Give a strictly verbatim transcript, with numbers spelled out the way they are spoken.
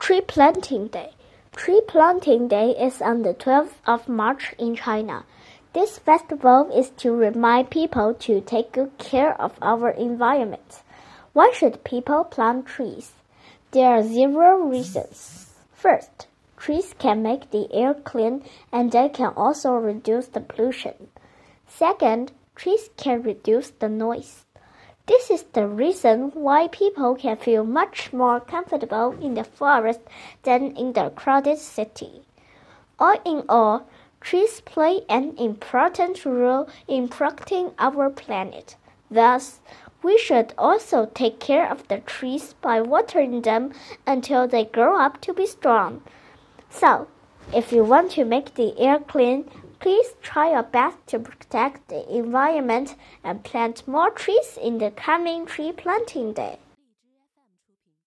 Tree Planting Day. Tree Planting Day is on the twelfth of March in China. This festival is to remind people to take good care of our environment. Why should people plant trees? There are several reasons. First, trees can make the air clean and they can also reduce the pollution. Second, trees can reduce the noise. This is the reason why people can feel much more comfortable in the forest than in the crowded city. All in all, trees play an important role in protecting our planet. Thus, we should also take care of the trees by watering them until they grow up to be strong. So, if you want to make the air clean, please try your best to protect the environment and plant more trees in the coming tree planting day.